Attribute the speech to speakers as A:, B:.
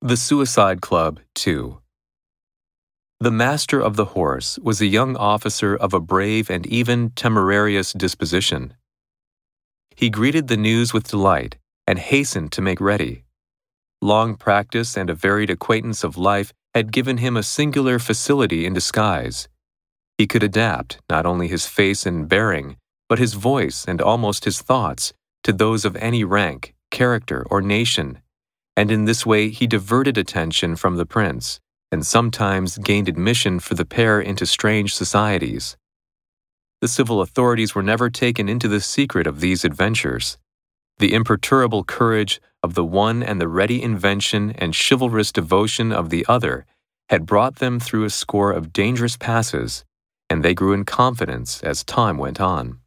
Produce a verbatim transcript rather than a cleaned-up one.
A: The Suicide Club, two. The master of the horse was a young officer of a brave and even temerarious disposition. He greeted the news with delight and hastened to make ready. Long practice and a varied acquaintance of life had given him a singular facility in disguise. He could adapt not only his face and bearing, but his voice and almost his thoughts to those of any rank, character, or nation, and in this way he diverted attention from the prince, and sometimes gained admission for the pair into strange societies. The civil authorities were never taken into the secret of these adventures. The imperturbable courage of the one and the ready invention and chivalrous devotion of the other had brought them through a score of dangerous passes, and they grew in confidence as time went on.